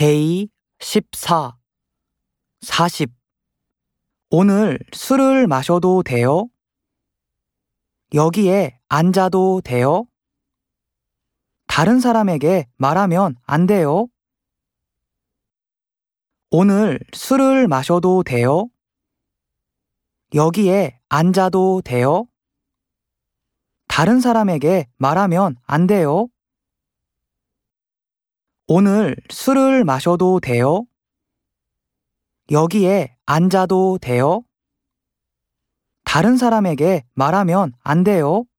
데이 14, 40. 오늘 술을 마셔도 돼요? 여기에 앉아도 돼요? 다른 사람에게 말하면 안 돼요? 오늘 술을 마셔도 돼요? 여기에 앉아도 돼요? 다른 사람에게 말하면 안 돼요? 오늘 술을 마셔도 돼요? 여기에 앉아도 돼요? 다른 사람에게 말하면 안 돼요?